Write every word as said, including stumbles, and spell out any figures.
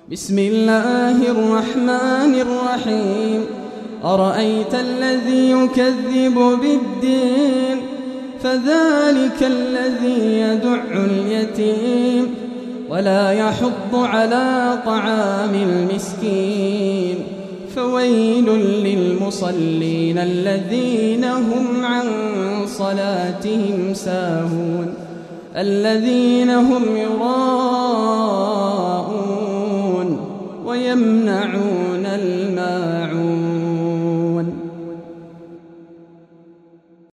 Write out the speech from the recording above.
بسم الله الرحمن الرحيم أرأيت الذي يكذب بالدين فذلك الذي يدع اليتيم ولا يحض على طعام المسكين فويل للمصلين الذين هم عن صلاتهم ساهون الذين هم يراءون